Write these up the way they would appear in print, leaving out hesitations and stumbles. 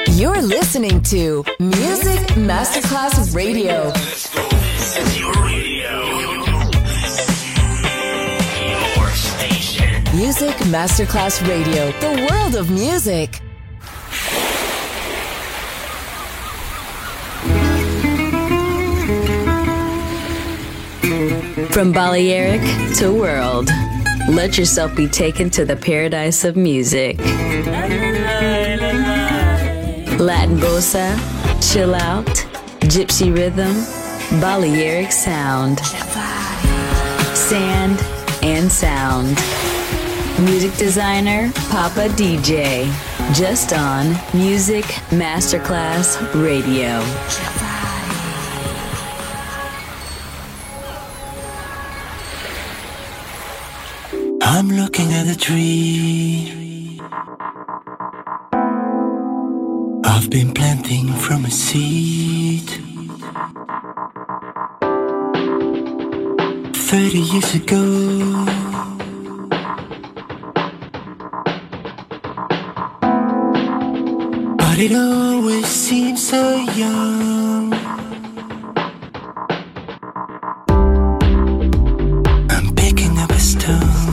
You're listening to Music Masterclass Radio. Your radio. Your station. Music Masterclass Radio. The world of music. From Balearic to world, let yourself be taken to the paradise of music. Latin bossa, chill out, gypsy rhythm, Balearic sound, sand and sound. Music designer, Papa DJ, just on Music Masterclass Radio. I'm looking at a tree I've been planting from a seed 30 years ago. But it always seems so young. I'm picking up a stone.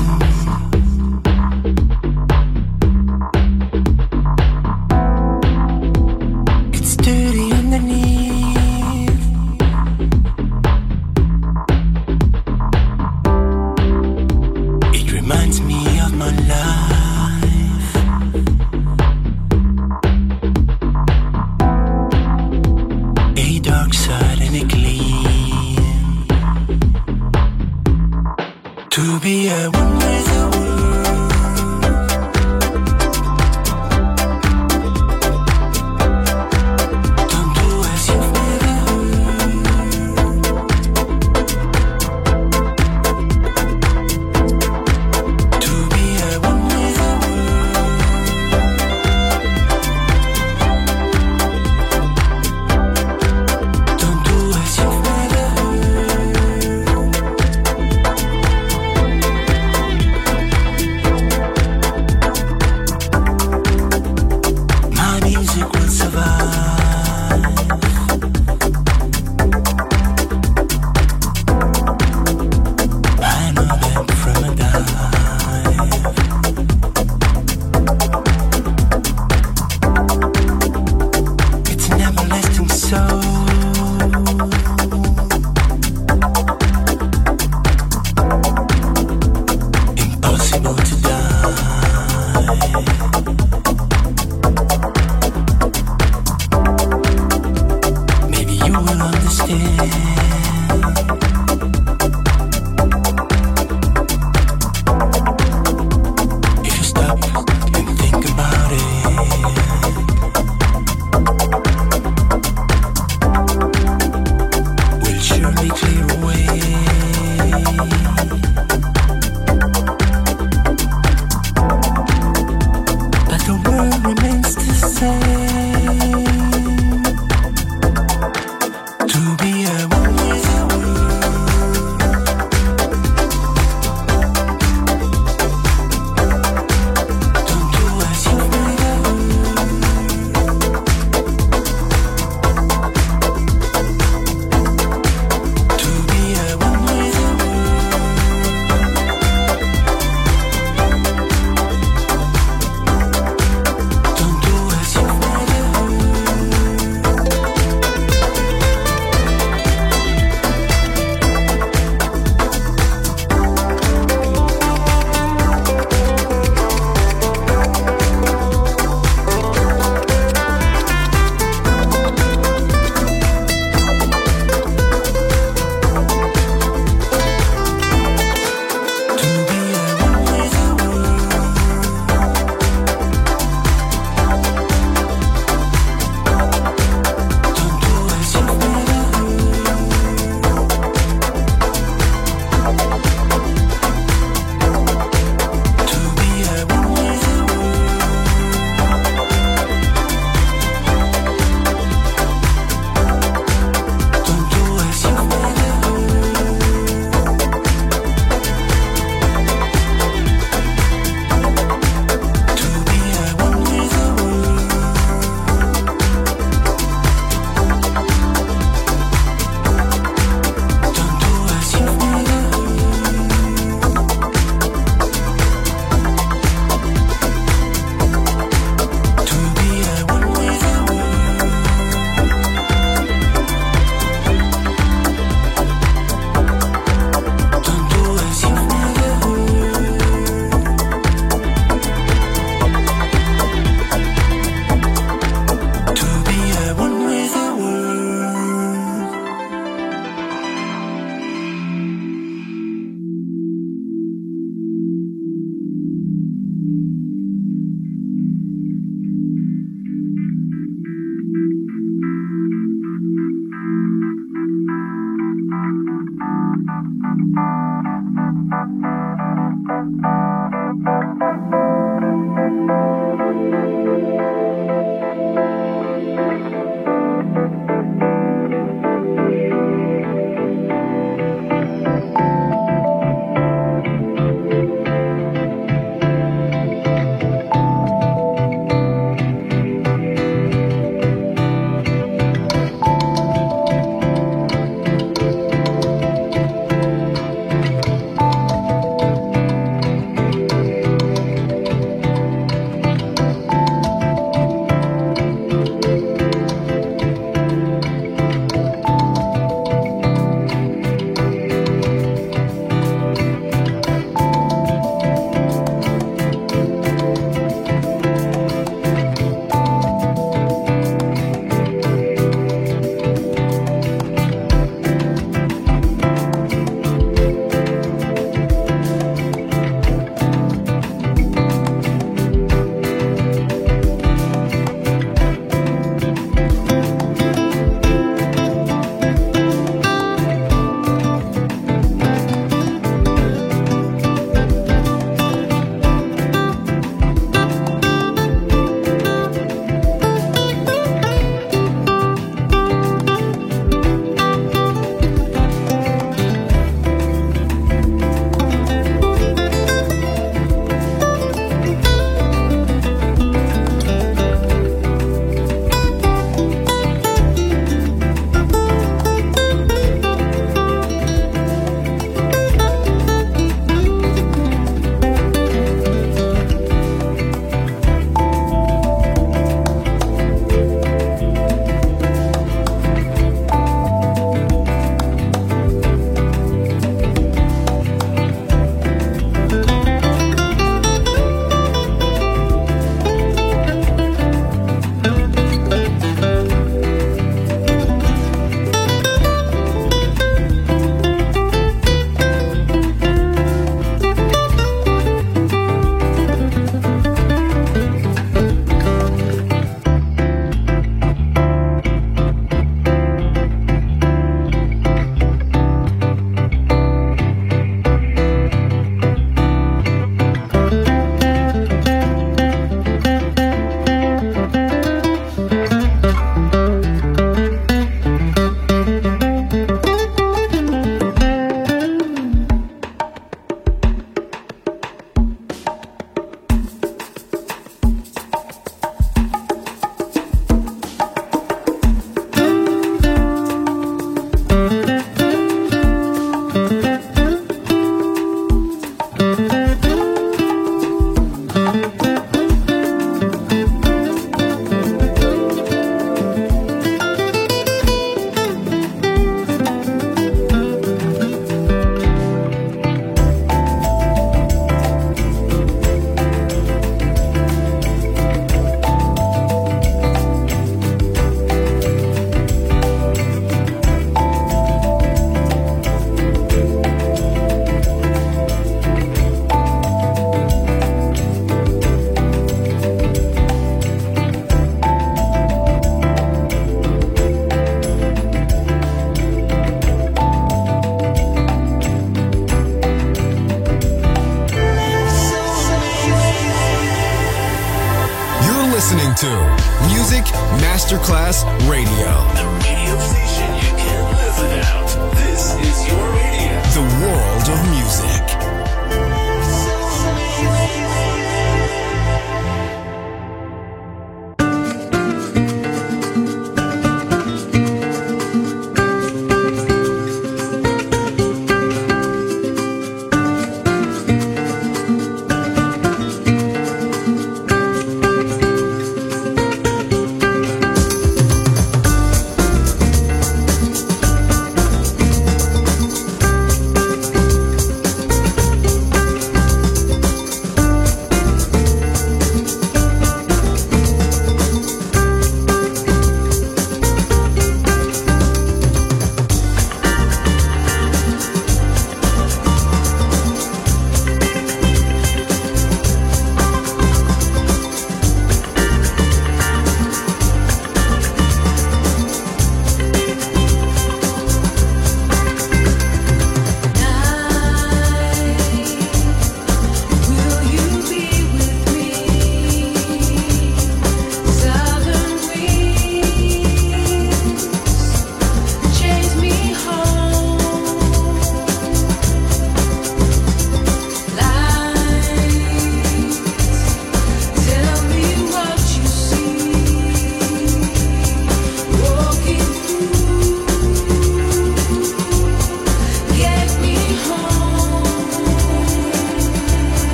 Music Masterclass Radio. The radio station you can't live without. This is your radio. The world of music.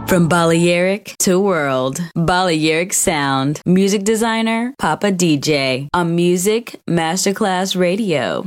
From Balearic to world, Balearic Sound. Music designer, Papa DJ. On Music Masterclass Radio.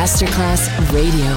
Masterclass Radio.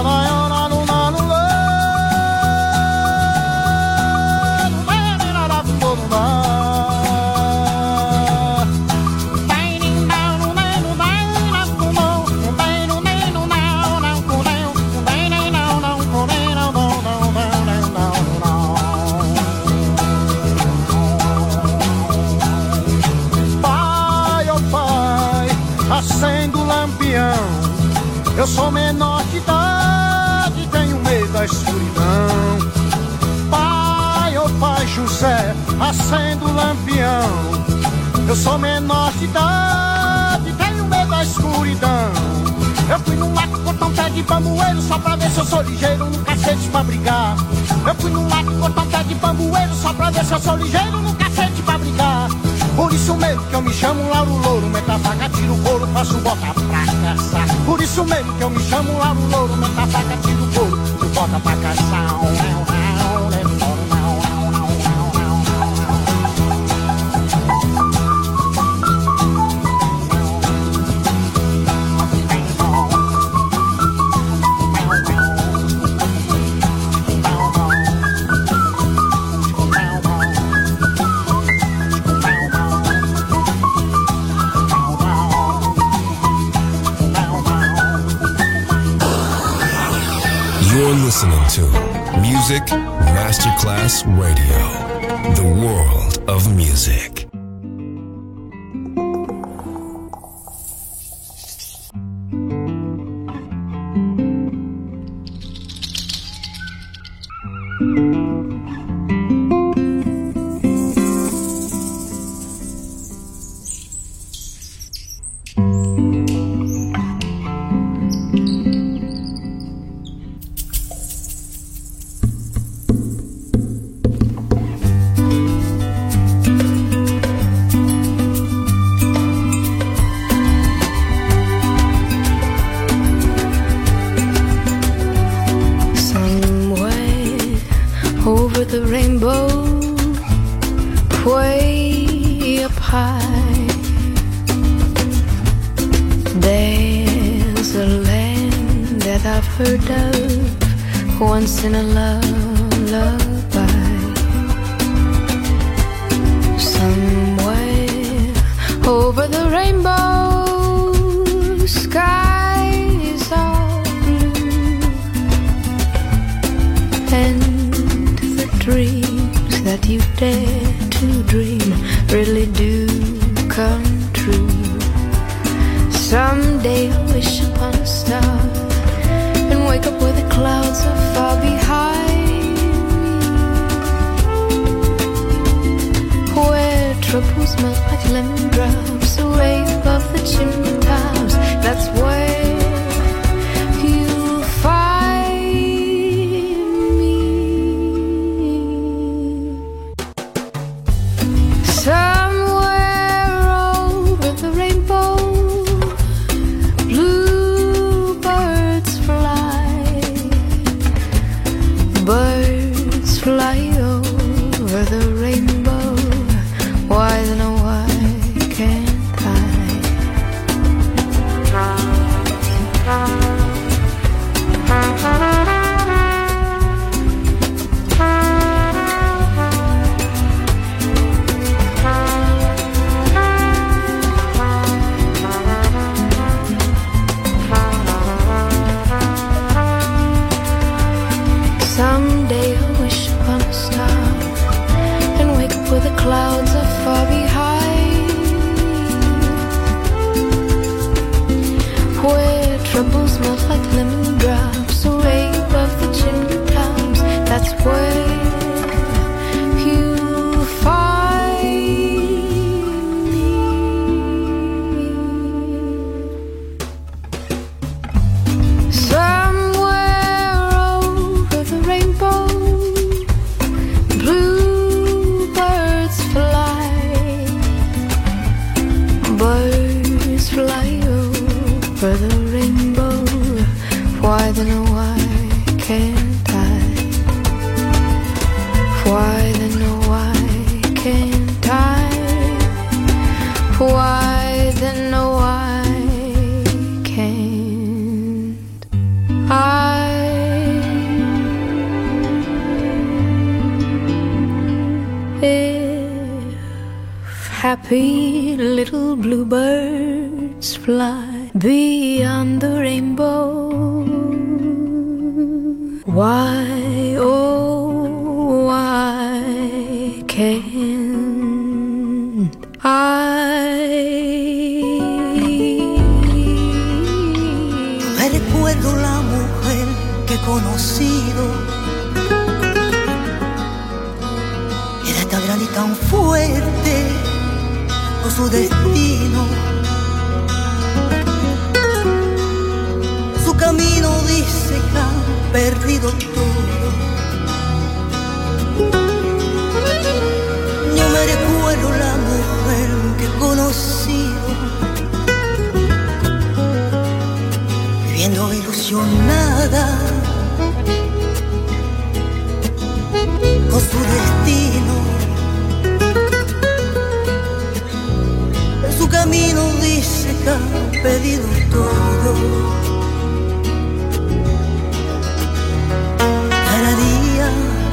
Eu sou menor de idade, tenho medo da escuridão. Pai, oh pai José, acendo o lampião. Eu sou menor de idade, tenho medo da escuridão. Eu fui num lago cortar um pé de bambueiro só pra ver se eu sou ligeiro no cacete pra brigar. Eu fui num lago cortar um pé de bambueiro só pra ver se eu sou ligeiro no cacete pra brigar. Por isso mesmo que eu me chamo Lauro Louro, meta a faca, tiro o couro, faço bota pra caçar. Por isso mesmo que eu me chamo Lauro Louro, meta a faca, tiro o couro, tu bota pra caçar. You're listening to Music Masterclass Radio, the world of music. In a lullaby, somewhere over the rainbow, skies are blue, and the dreams that you dare to dream really do come true. Someday I'll wish upon a star and wake up where the clouds are far behind me, where troubles melt like lemon drops away above the chimney tops. That's where you'll find me. Somewhere over the rainbow, bluebirds fly. Birds fly over the rainbow. Why then oh why can't I? Someday I'll wish upon a star and wake up where the clouds are far behind, where troubles melt like lemon drops away above the chimney tops. That's where you'll find me. Somewhere over the rainbow, bluebirds fly. Birds fly over the rainbow. Why then oh why can't I? Why then oh why can't I? Why then oh why can't I? happy little bluebirds fly beyond the rainbow. Why, oh, why can't Me recuerdo la mujer que he conocido. Era tan grande y tan fuerte por su destino. Su camino dice que ha perdido todo. Yo me recuerdo la mujer que he conocido, viviendo ilusionada con su destino. En su camino dice que ha perdido todo. Cada día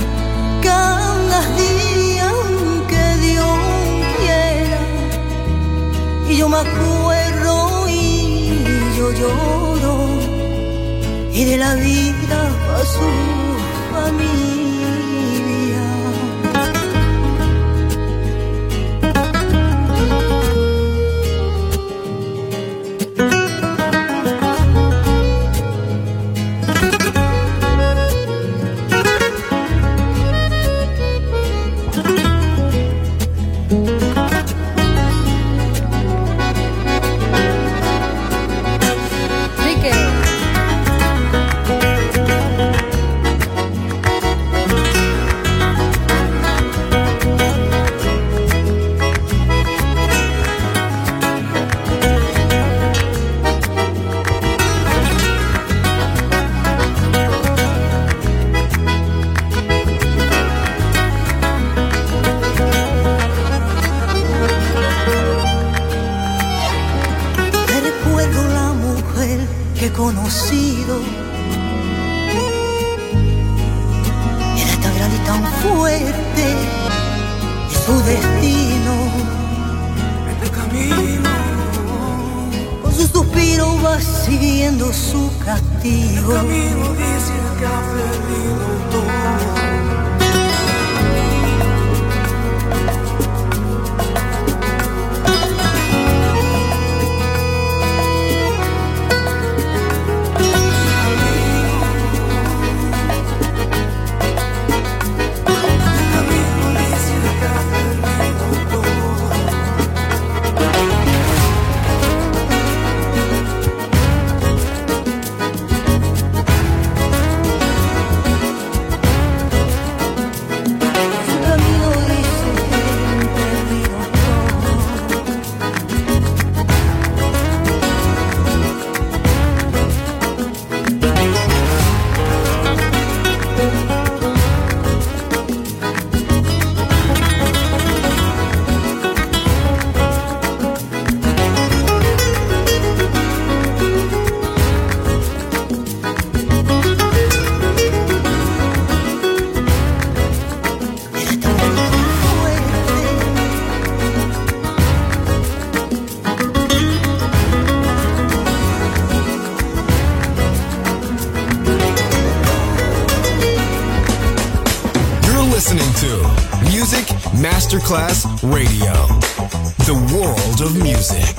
que Dios quiera, y yo me acuerdo y yo lloro, y de la vida a su familia. Conocido, era tan grande y tan fuerte, y su destino, este camino, con su suspiro va siguiendo su castigo. El camino dice que ha perdido todo. Masterclass Radio, the world of music.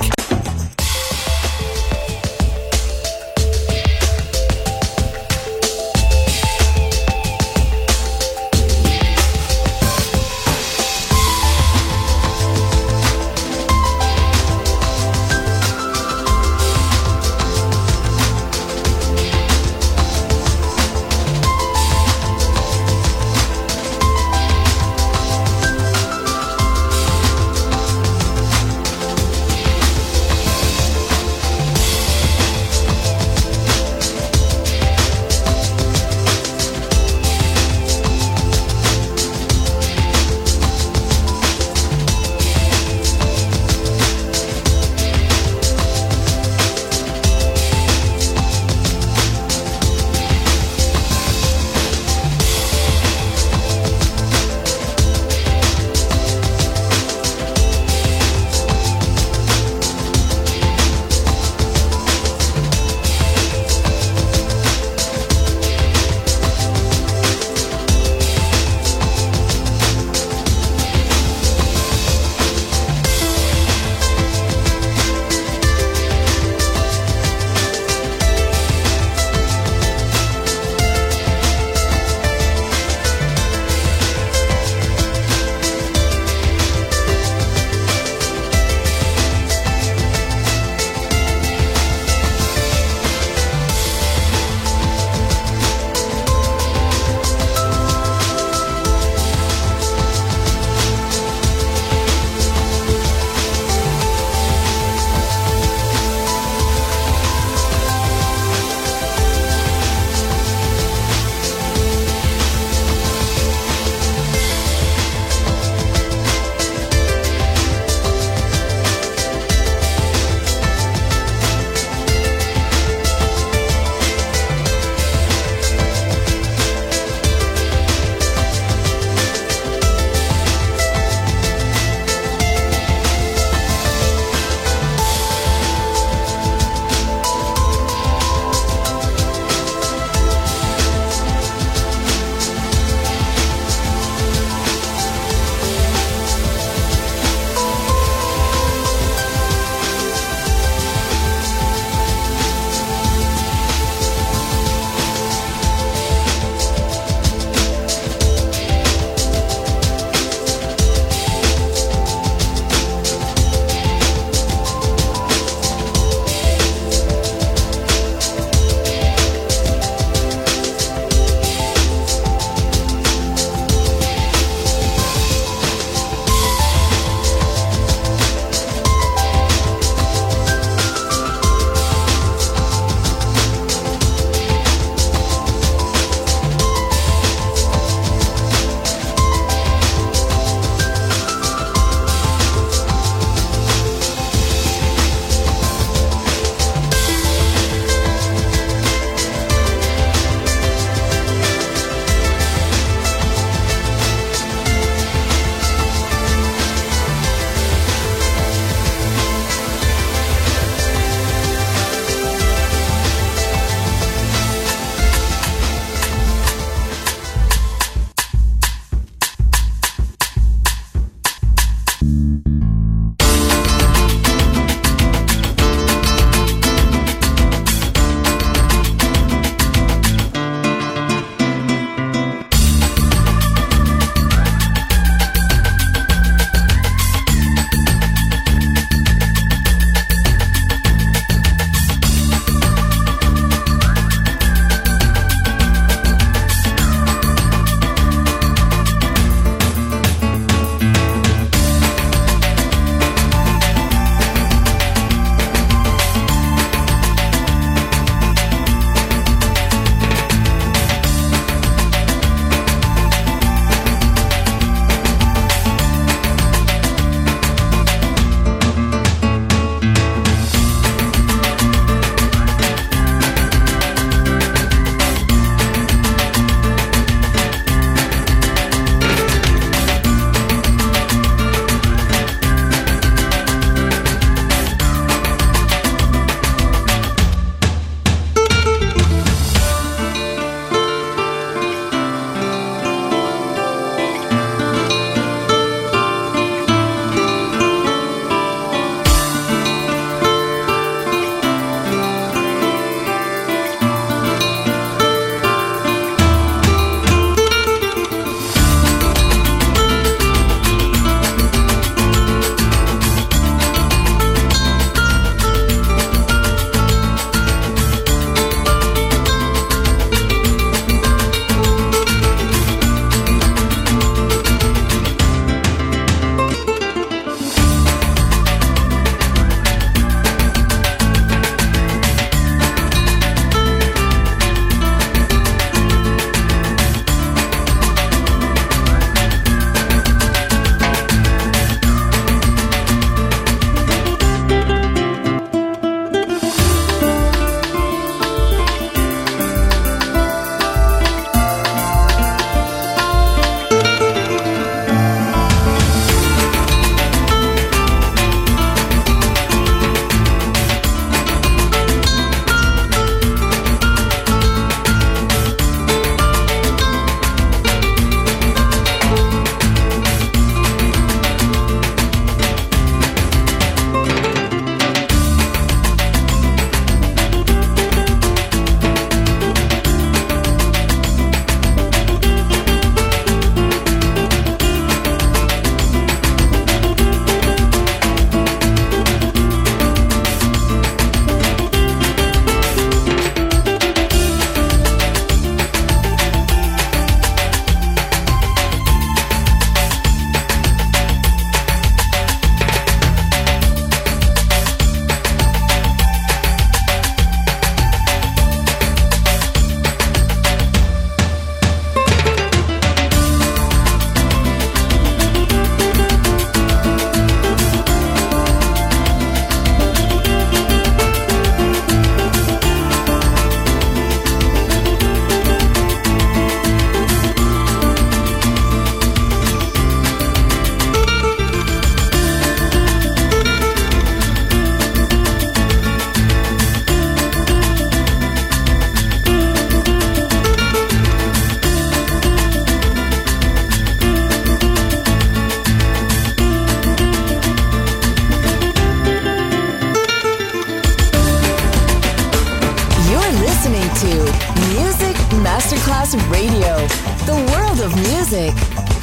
Masterclass Radio, the world of music.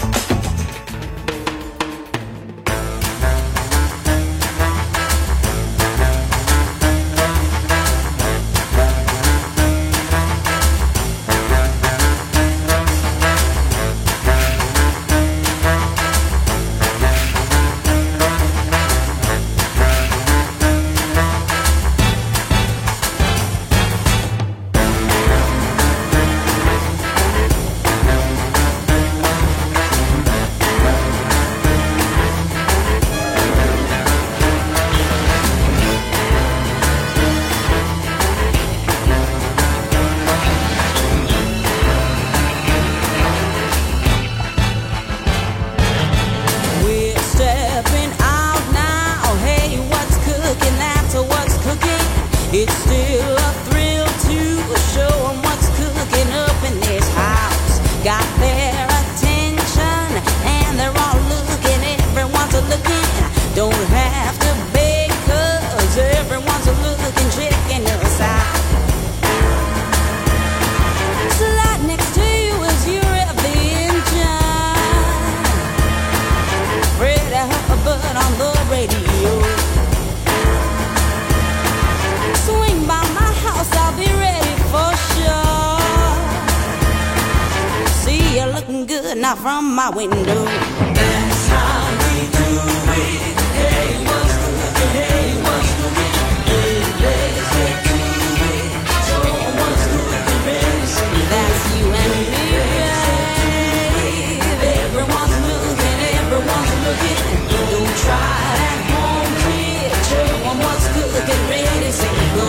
Not from my window. That's how we do it. Hey, what's cooking? Hey, what's cooking? Let's get to it. So what's cooking? Ready, say that's you and me, babe. Everyone's looking. Don't try at home, kid. Show 'em what's cooking. Ready, say go.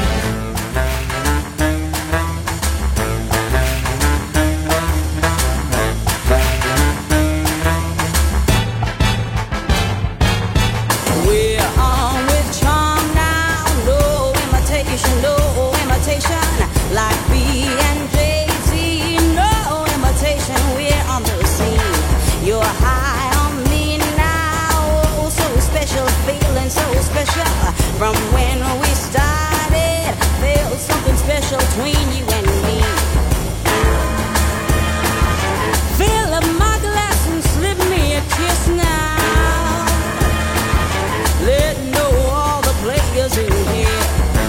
Like B&J-Z, no imitation, we're on the scene. You're high on me now, oh, so special, feeling so special. From when we started, felt something special between you and me. Fill up my glass and slip me a kiss now. Let know all the players in here.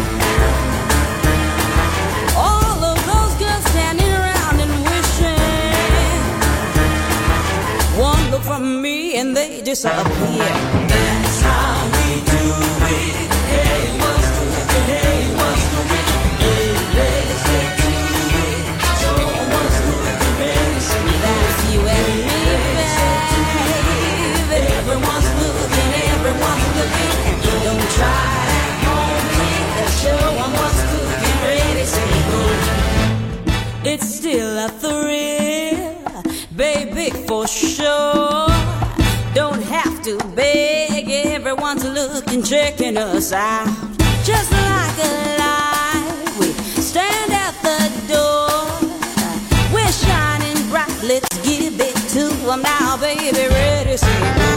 From me and they disappear. That's how we do it. Hey, what's cooking? Hey, what's cooking? Let's get to it. So what's cooking? Baby, say that's you and me, babe. Everyone's looking. Don't try at home, kid. Show 'em what's cooking. Ready, say go. It's still a thrill, baby, for sure. Don't have to beg, everyone's looking, checking us out. Just like a light, we stand at the door. We're shining bright, let's give it to them now, baby, ready, say go.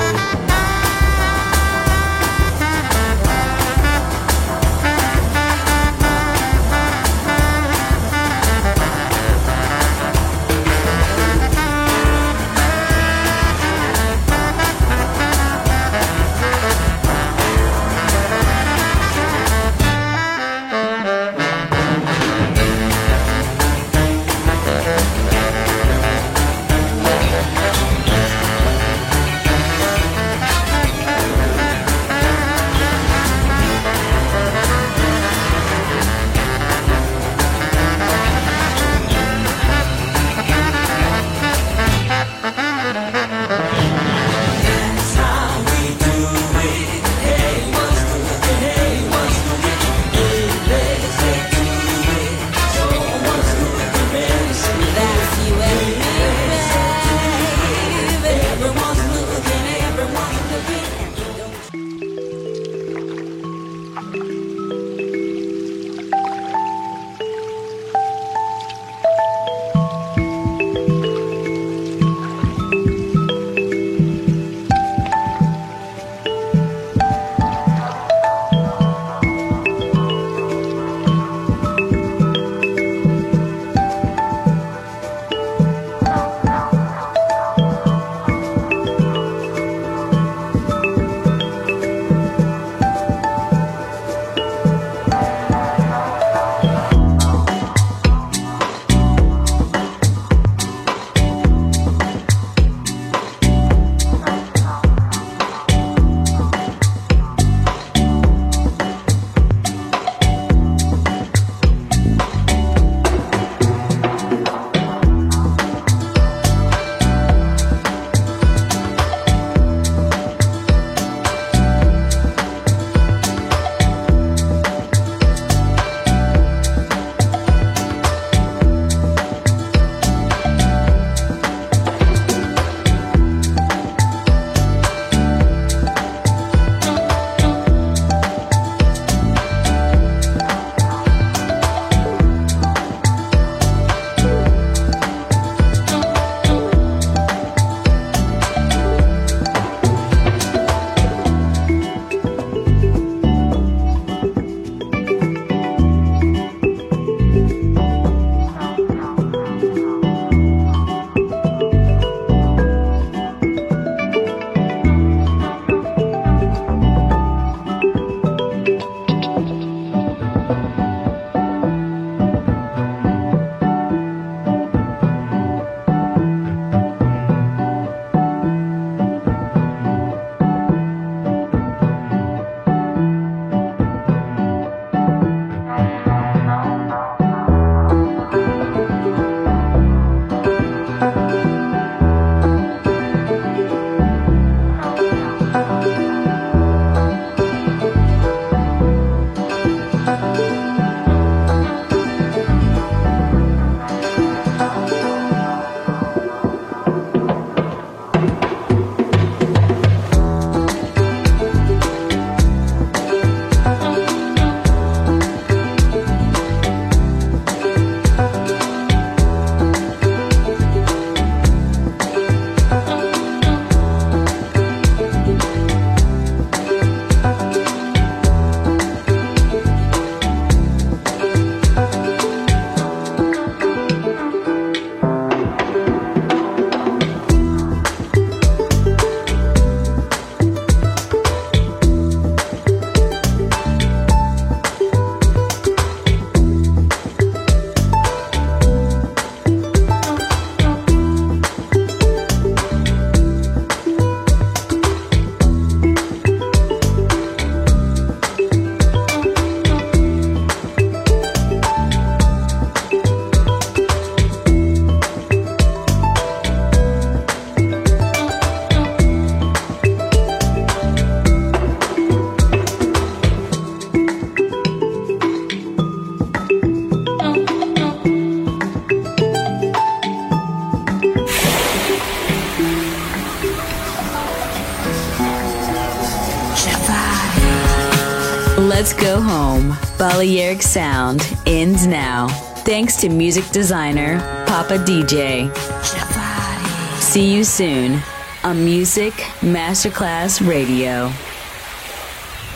Let's go home. Balearic Sound ends now. Thanks to music designer Papa DJ. See you soon on Music Masterclass Radio.